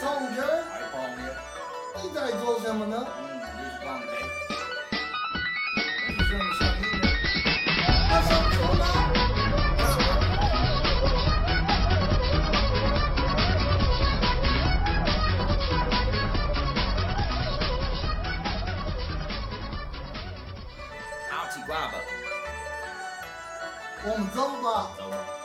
同学， 哎，朋友， 你在做什么呢？ 你是讲的？ 你什么声音呢？马上出来！ 好奇怪吧？ 我们走吧。 走吧。